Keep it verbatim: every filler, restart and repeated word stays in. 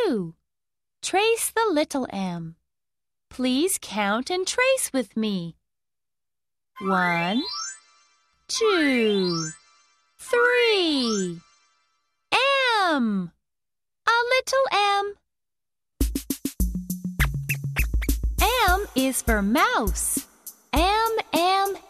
two. Trace the little m. Please count and trace with me. One, two, three. M. A little m. M is for mouse. M, M,